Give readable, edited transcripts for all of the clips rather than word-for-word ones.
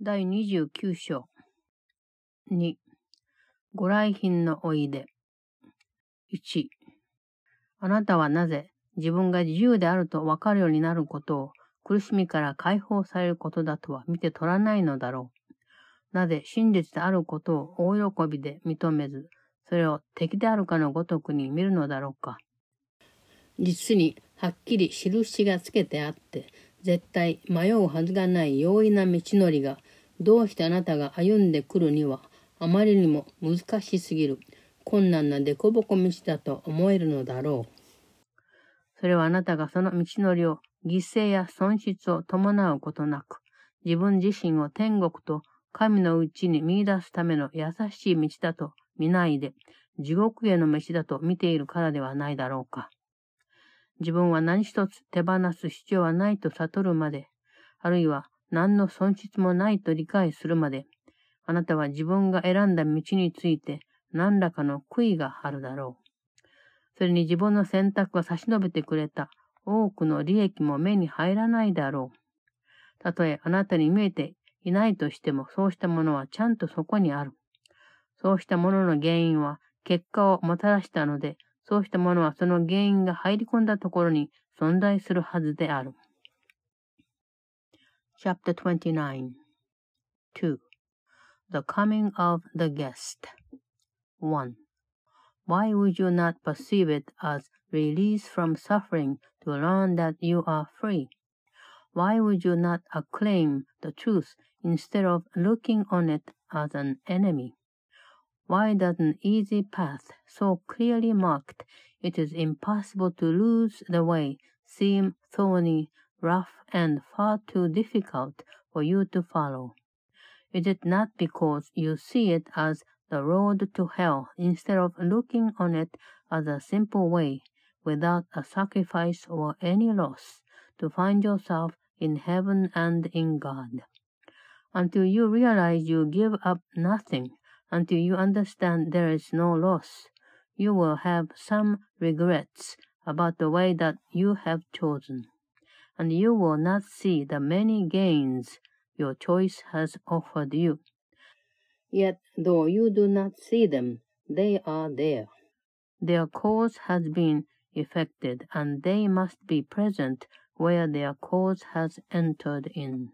第29章。2、ご来賓のおいで。1、あなたはなぜ自分が自由であると分かるようになることを苦しみから解放されることだとは見て取らないのだろう。なぜ真実であることを大喜びで認めず、それを敵であるかのごとくに見るのだろうか。実にはっきり印がつけてあって、絶対迷うはずがない容易な道のりが、どうしてあなたが歩んでくるにはあまりにも難しすぎる困難な凸凹道だと思えるのだろう。それはあなたがその道のりを犠牲や損失を伴うことなく、自分自身を天国と神のうちに見出すための優しい道だと見ないで、地獄への道だと見ているからではないだろうか。自分は何一つ手放す必要はないと悟るまで、あるいは何の損失もないと理解するまで、あなたは自分が選んだ道について何らかの悔いがあるだろう。それに自分の選択が差し伸べてくれた多くの利益も目に入らないだろう。たとえあなたに見えていないとしても、そうしたものはちゃんとそこにある。そうしたものの原因は結果をもたらしたので、そうしたものはその原因が入り込んだところに存在するはずである。Chapter 29 2. The coming of the guest 1. Why would you not perceive it as release from suffering to learn that you are free? Why would you not acclaim the truth instead of looking on it as an enemy? Why does an easy path, so clearly marked it is impossible to lose the way, seem thorny, rough, and far too difficult for you to follow? Is it not because you see it as the road to hell instead of looking on it as a simple way, without a sacrifice or any loss, to find yourself in heaven and in God? Until you realize you give up nothing, until you understand there is no loss, you will have some regrets about the way that you have chosen, and you will not see the many gains your choice has offered you. Yet, though you do not see them, they are there. Their cause has been effected, and they must be present where their cause has entered in.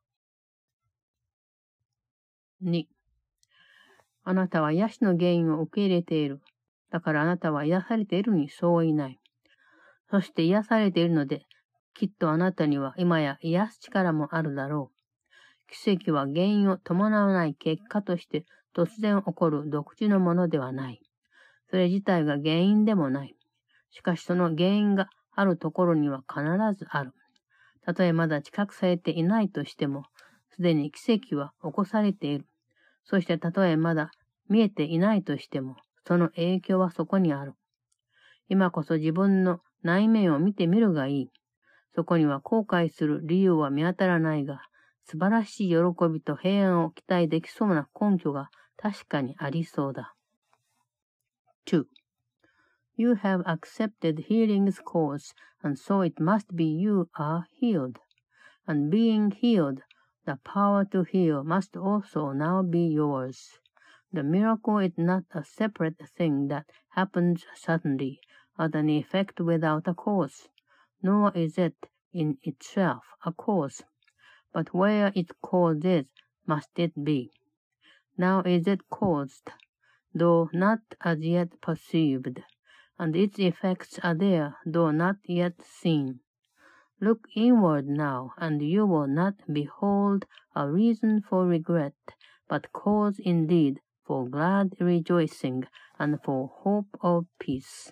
2. あなたは癒しの原因を受け入れている。だからあなたは癒されているにそういない。そして癒されているので、きっとあなたには今や癒す力もあるだろう。奇跡は原因を伴わない結果として突然起こる独自のものではない。それ自体が原因でもない。しかしその原因があるところには必ずある。たとえまだ知覚されていないとしても、すでに奇跡は起こされている。そしてたとえまだ見えていないとしても、その影響はそこにある。今こそ自分の内面を見てみるがいい。そこには後悔する理由は見当たらないが、素晴らしい喜びと平安を期待できそうな根拠が確かにありそうだ。2. You have accepted healing's cause, and so it must be you are healed. And being healed, the power to heal must also now be yours. The miracle is not a separate thing that happens suddenly, as an effect without a cause, nor is it in itself a cause. But where its cause is, must it be. Now is it caused, though not as yet perceived, and its effects are there, though not yet seen. Look inward now, and you will not behold a reason for regret, but cause indeed for glad rejoicing and for hope of peace.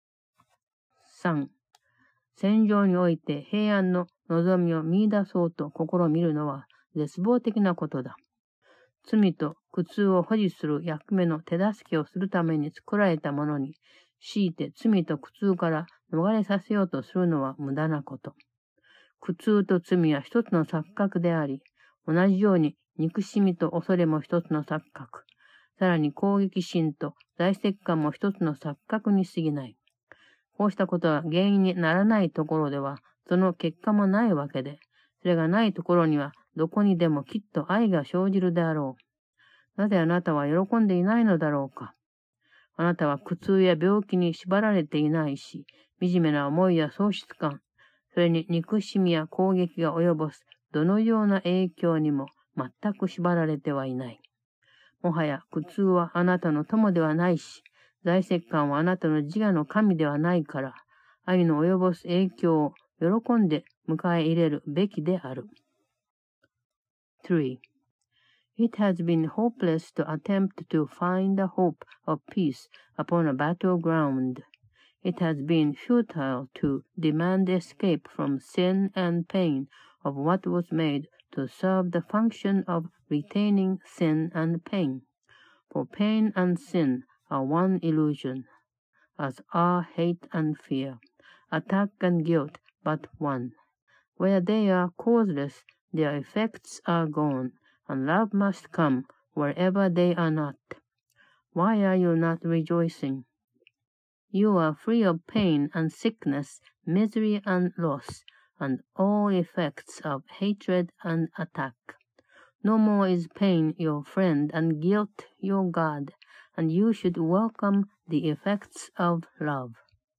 3. 戦場において平安の望みを見出そうと試みるのは絶望的なことだ。罪と苦痛を保持する役目の手助けをするために作られたものに、強いて罪と苦痛から逃れさせようとするのは無駄なこと。苦痛と罪は一つの錯覚であり、同じように憎しみと恐れも一つの錯覚、さらに攻撃心と在籍感も一つの錯覚に過ぎない。こうしたことは原因にならないところでは、その結果もないわけで、それがないところにはどこにでもきっと愛が生じるであろう。なぜあなたは喜んでいないのだろうか。あなたは苦痛や病気に縛られていないし、惨めな思いや喪失感、それに憎しみや攻撃が及ぼすどのような影響にも全く縛られてはいない。もはや苦痛はあなたの友ではないし、財石感はあなたの自我の神ではないから、愛の及ぼす影響を喜んで迎え入れるべきである。3. It has been hopeless to attempt to find the hope of peace upon a battleground. It has been futile to demand escape from sin and pain of what was made to serve the function of retaining sin and pain. For pain and sin are one illusion, as are hate and fear, attack and guilt but one. Where they are causeless, their effects are gone, and love must come wherever they are not. Why are you not rejoicing? You are free of pain and sickness, misery and loss, and all effects of hatred and attack. No more is pain your friend and guilt your God, and you should welcome the effects of love.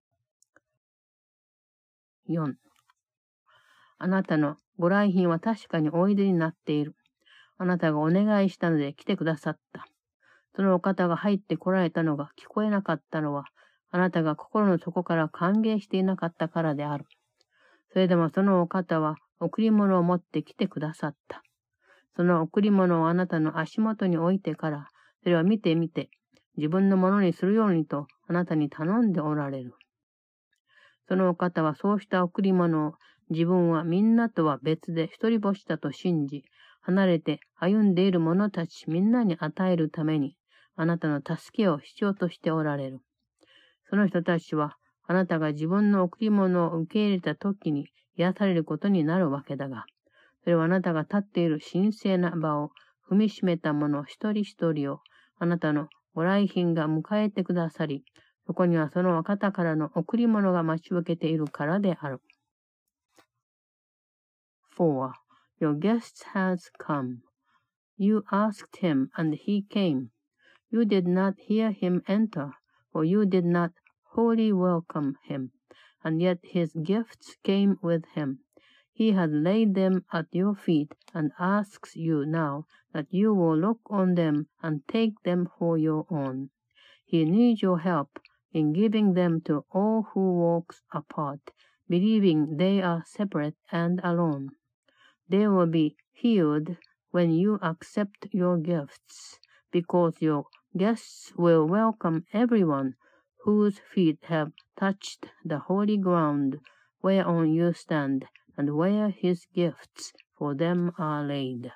4. あなたのご来賓は確かにおいでになっている。あなたがお願いしたので来てくださった。そのお方が入ってこられたのが聞こえなかったのは、あなたが心の底から歓迎していなかったからである。それでもそのお方は贈り物を持って来てくださった。その贈り物をあなたの足元に置いてから、それを見てみて、自分のものにするようにとあなたに頼んでおられる。そのお方はそうした贈り物を自分はみんなとは別で一人ぼしだと信じ、離れて歩んでいる者たちみんなに与えるために、あなたの助けを必要としておられる。その人たちは、あなたが自分の贈り物を受け入れた時に癒されることになるわけだが、それはあなたが立っている神聖な場を踏みしめた者一人一人を、あなたのご来賓が迎えてくださり、そこにはそのお方からの贈り物が待ち受けているからである。4. Your guest has come. You asked him, and he came. You did not hear him enter, for you did not wholly welcome him, and yet his gifts came with him. He has laid them at your feet, and asks you now that you will look on them and take them for your own. He needs your help in giving them to all who walk apart, believing they are separate and alone. They will be healed when you accept your gifts, because your guests will welcome everyone whose feet have touched the holy ground whereon you stand, and where his gifts for them are laid.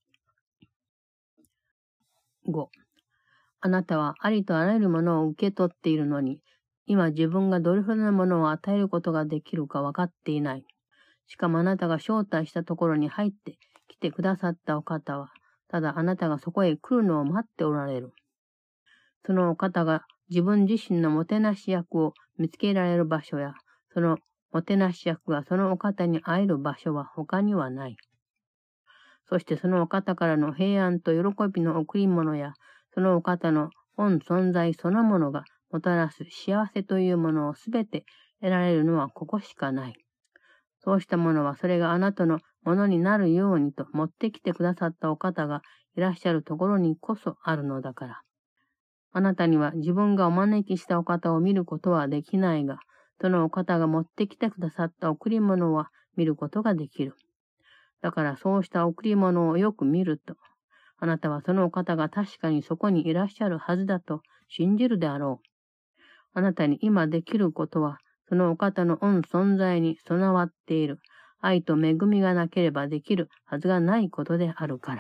5. あなたはありとあらゆるものを受け取っているのに、今自分がどれほどのものを与えることができるか分かっていない。しかもあなたが招待したところに入って来てくださったお方は、ただあなたがそこへ来るのを待っておられる。そのお方が自分自身のもてなし役を見つけられる場所や、そのもてなし役がそのお方に会える場所は他にはない。そしてそのお方からの平安と喜びの贈り物や、そのお方の本存在そのものがもたらす幸せというものをすべて得られるのはここしかない。そうしたものはそれがあなたのものになるようにと持ってきてくださったお方がいらっしゃるところにこそあるのだから。あなたには自分がお招きしたお方を見ることはできないが、そのお方が持ってきてくださった贈り物は見ることができる。だからそうした贈り物をよく見ると、あなたはそのお方が確かにそこにいらっしゃるはずだと信じるであろう。あなたに今できることは、そのお方の御存在に備わっている愛と恵みがなければできるはずがないことであるから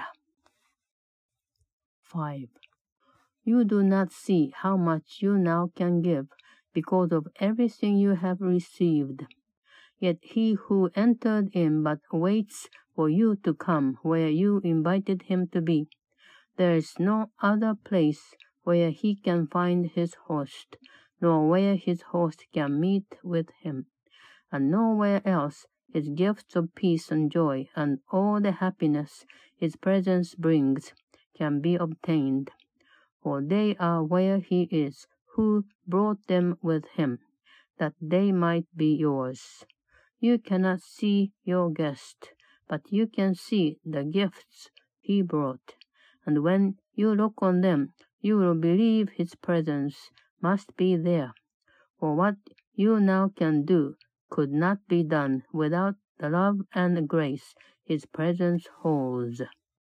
。5. You do not see how much you now can give because of everything you have received. Yet he who entered in but waits for you to come where you invited him to be. There is no other place where he can find his host.nor where his host can meet with him, and nowhere else his gifts of peace and joy, and all the happiness his presence brings can be obtained. For they are where he is, who brought them with him, that they might be yours. You cannot see your guest, but you can see the gifts he brought, and when you look on them, you will believe his presence must be there. For what you now can do could not be done without the love and grace his presence holds.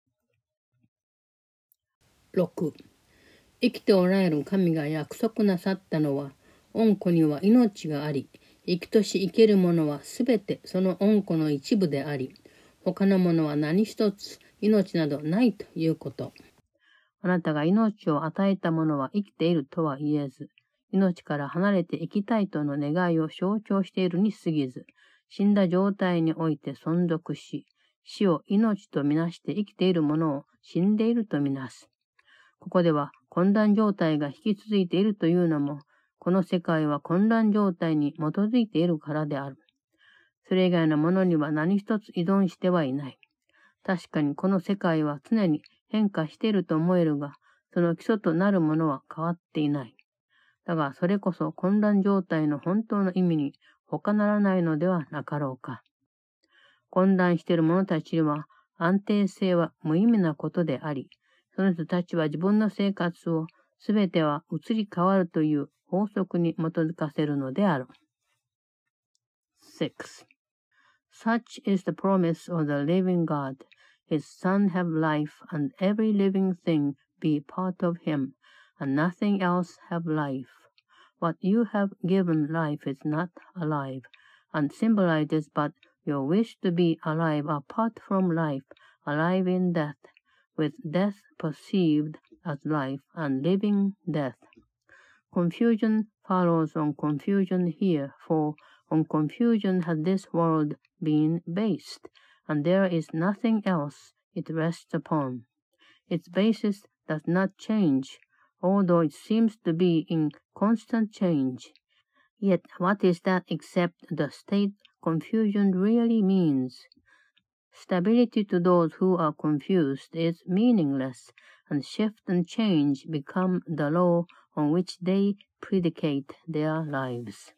6. 生きておられる神が約束なさったのは、恩子には命があり、生きとし生けるものはすべてその恩子の一部であり、他のものは何一つ命などないということ。あなたが命を与えたものは生きているとは言えず、命から離れて生きたいとの願いを象徴しているに過ぎず、死んだ状態において存続し、死を命とみなして生きているものを死んでいるとみなす。ここでは混乱状態が引き続いているというのも、この世界は混乱状態に基づいているからである。それ以外のものには何一つ依存してはいない。確かにこの世界は常に変化していると思えるが、その基礎となるものは変わっていない。だがそれこそ混乱状態の本当の意味に他ならないのではなかろうか。混乱している者たちには安定性は無意味なことであり、その人たちは自分の生活をすべては移り変わるという法則に基づかせるのである。6. Such is the promise of the living God. His Son have life, and every living thing be part of him, and nothing else have life. What you have given life is not alive, and symbolizes but your wish to be alive apart from life, alive in death, with death perceived as life, and living death. Confusion follows on confusion here, for on confusion has this world been based, and there is nothing else it rests upon. Its basis does not change, although it seems to be in constant change. Yet what is that except the state confusion really means? Stability to those who are confused is meaningless, and shift and change become the law on which they predicate their lives.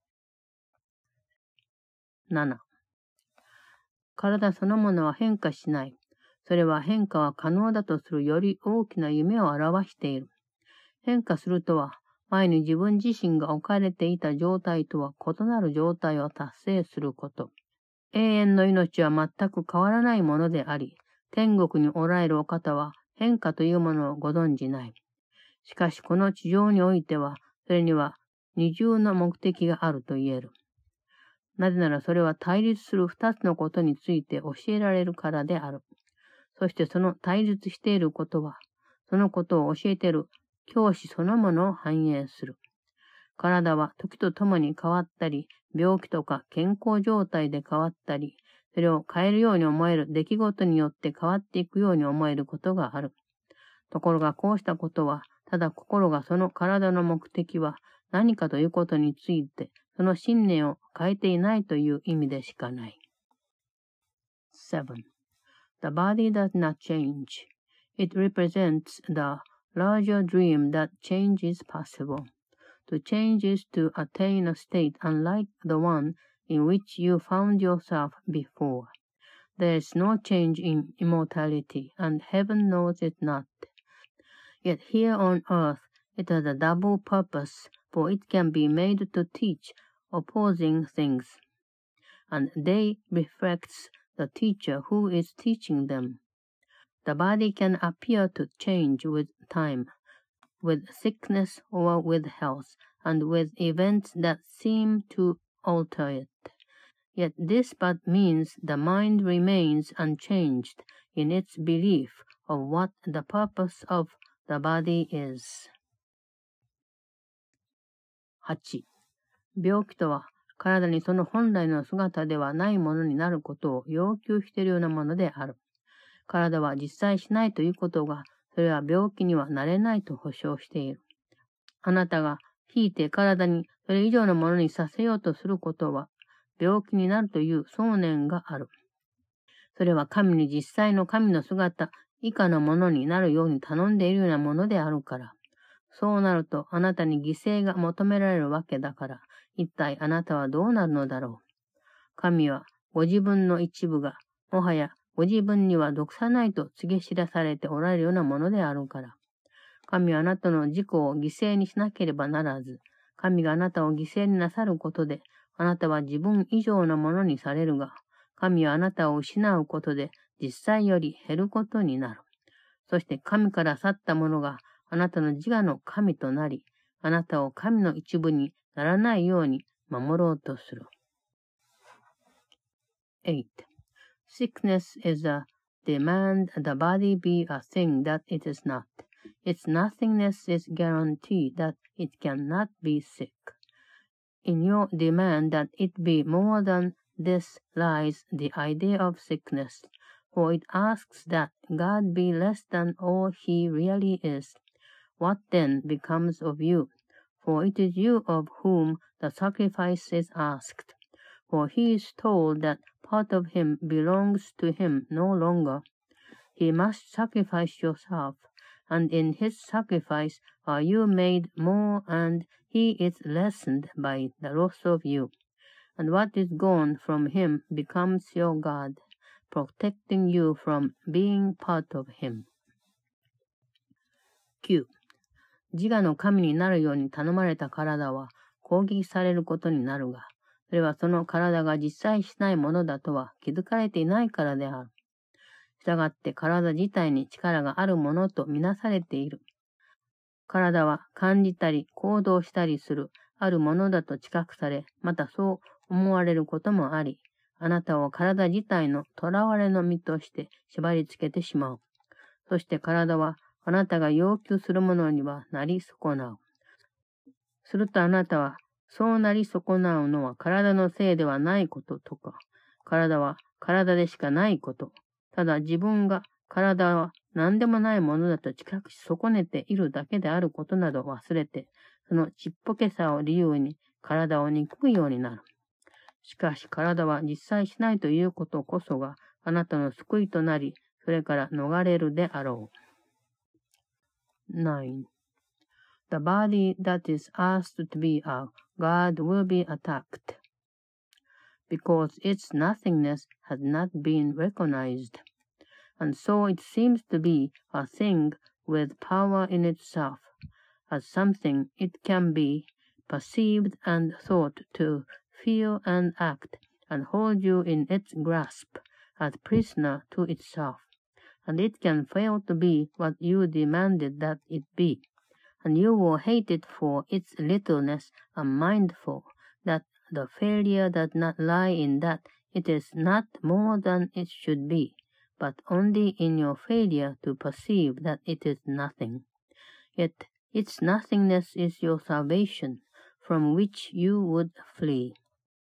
7. 体そのものは変化しない。それは変化は可能だとするより大きな夢を表している。変化するとは、前に自分自身が置かれていた状態とは異なる状態を達成すること。永遠の命は全く変わらないものであり、天国におられるお方は変化というものをご存じない。しかしこの地上においては、それには二重の目的があると言える。なぜならそれは対立する二つのことについて教えられるからである。そしてその対立していることは、そのことを教えている教師そのものを反映する。体は時とともに変わったり、病気とか健康状態で変わったり、それを変えるように思える出来事によって変わっていくように思えることがある。ところがこうしたことは、ただ心がその体の目的は何かということについて、その信念を変えていないという意味でしかない。7. The body does not change. It represents the larger dream that change is possible. To change is to attain a state unlike the one in which you found yourself before. There is no change in immortality, and heaven knows it not. Yet here on earth it has a double purpose, for it can be made to teach opposing things, and day reflects the teacher who is teaching them. The body can appear to change with time, with sickness or with health, and with events that seem to alter it. Yet this but means the mind remains unchanged in its belief of what the purpose of the body is. 8. 病気とは体にその本来の姿ではないものになることを要求しているようなものである。体は実在しないということが、それは病気にはなれないと保証している。あなたが引いて体にそれ以上のものにさせようとすることは、 病気になるという想念がある。それは神に実際の神の姿以下のものになるように頼んでいるようなものであるから。そうなるとあなたに犠牲が求められるわけだから、一体あなたはどうなるのだろう。神はご自分の一部が、もはやご自分には毒さないと告げ知らされておられるようなものであるから。神はあなたの自己を犠牲にしなければならず、神があなたを犠牲になさることで、あなたは自分以上のものにされるが、神はあなたを失うことで実際より減ることになる。そして神から去ったものがあなたの自我の神となり、あなたを神の一部にならないように守ろうとする。8. Sickness is a demand the body be a thing that it is not. Its nothingness is guarantee that it cannot be sick. In your demand that it be more than this lies the idea of sickness, for it asks that God be less than all he really is. What then becomes of you? For it is you of whom the sacrifice is asked. For he is told that part of him belongs to him no longer. He must sacrifice yourself, and in his sacrifice are you made more, and he is lessened by the loss of you. And what is gone from him becomes your God, protecting you from being part of him. 9. 自我の神になるように頼まれた体は攻撃されることになるが、それはその体が実際しないものだとは気づかれていないからである。したがって体自体に力があるものとみなされている。体は感じたり行動したりするあるものだと知覚され、またそう思われることもあり、あなたを体自体の囚われの身として縛り付けてしまう。そして体はあなたが要求するものにはなり損なう。するとあなたは、そうなり損なうのは体のせいではないこととか、体は体でしかないこと、ただ自分が体は何でもないものだと知覚し損ねているだけであることなど忘れて、そのちっぽけさを理由に体を憎むようになる。しかし体は実際しないということこそがあなたの救いとなり、それから逃れるであろう。9. The body that is asked to be a God will be attacked, because its nothingness has not been recognized, and so it seems to be a thing with power in itself, as something it can be perceived and thought to feel and act, and hold you in its grasp as prisoner to itself, and it can fail to be what you demanded that it be. And you will hate it for its littleness, and mindful that the failure does not lie in that it is not more than it should be, but only in your failure to perceive that it is nothing. Yet its nothingness is your salvation, from which you would flee.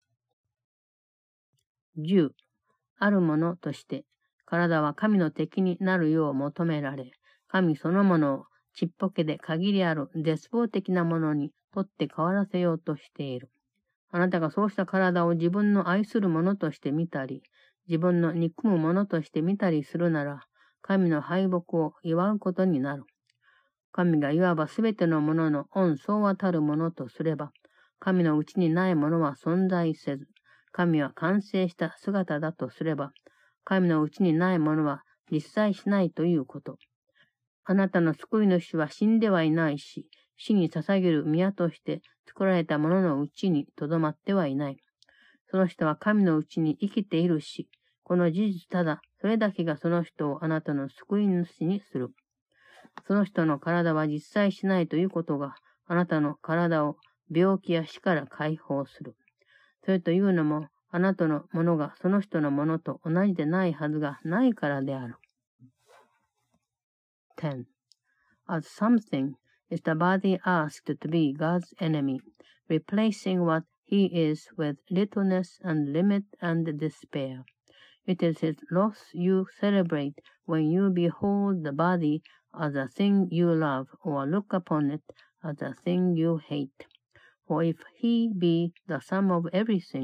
10. あるものとして、体は神の敵になるよう求められ、神そのものをちっぽけで限りある絶望的なものにとって変わらせようとしている。あなたがそうした体を自分の愛するものとして見たり、自分の憎むものとして見たりするなら、神の敗北を祝うことになる。神がいわばすべてのものの恩相和たるものとすれば、神のうちにないものは存在せず、神は完成した姿だとすれば、神のうちにないものは実在しないということ。あなたの救い主は死んではいないし、死に捧げる宮として作られたもののうちにとどまってはいない。その人は神のうちに生きているし、この事実ただ、それだけがその人をあなたの救い主にする。その人の体は実在しないということが、あなたの体を病気や死から解放する。それというのも、あなたのものがその人のものと同じでないはずがないからである。10. As something is the body asked to be God's enemy, replacing what he is with littleness and limit and despair. It is his loss you celebrate when you behold the body as a thing you love or look upon it as a thing you hate. For if he be the sum of everything,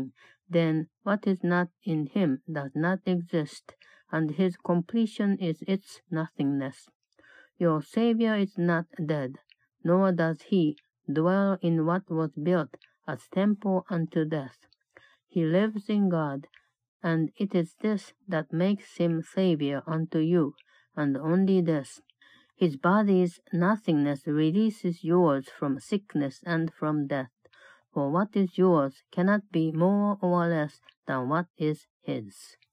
then what is not in him does not exist, and his completion is its nothingness. Your Savior is not dead, nor does he dwell in what was built as temple unto death. He lives in God, and it is this that makes him Savior unto you, and only this. His body's nothingness releases yours from sickness and from death, for what is yours cannot be more or less than what is his.